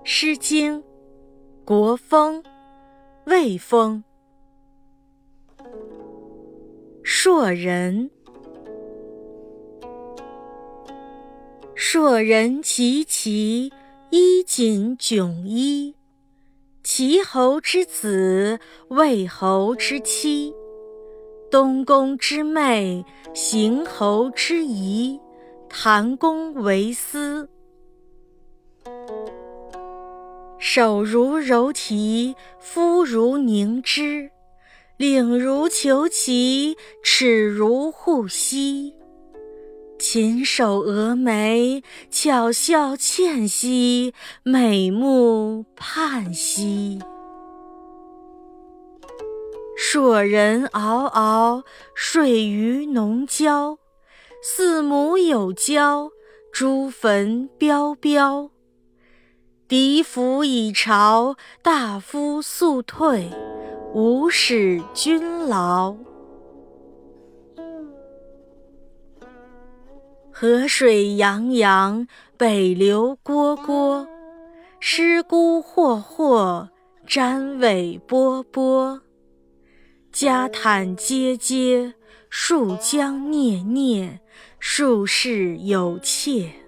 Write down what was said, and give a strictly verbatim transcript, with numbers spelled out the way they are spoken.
诗经·国风·卫风。硕人，硕人其其衣锦迥衣，齐侯之子，魏侯之妻，东宫之妹，邢侯之仪，谈公为私。手如柔荑，肤如凝脂，领如虬蛴，齿如护膝。禽首蛾眉，巧笑倩兮，美目盼兮。硕人嗷嗷，睡于农郊，四母有交，朱坟彪彪。嫡服已朝，大夫速退，无使君劳。河水洋洋，北流蝈蝈，尸骨霍霍，瞻尾波波。家坦阶阶，戍疆孽孽，术士有切。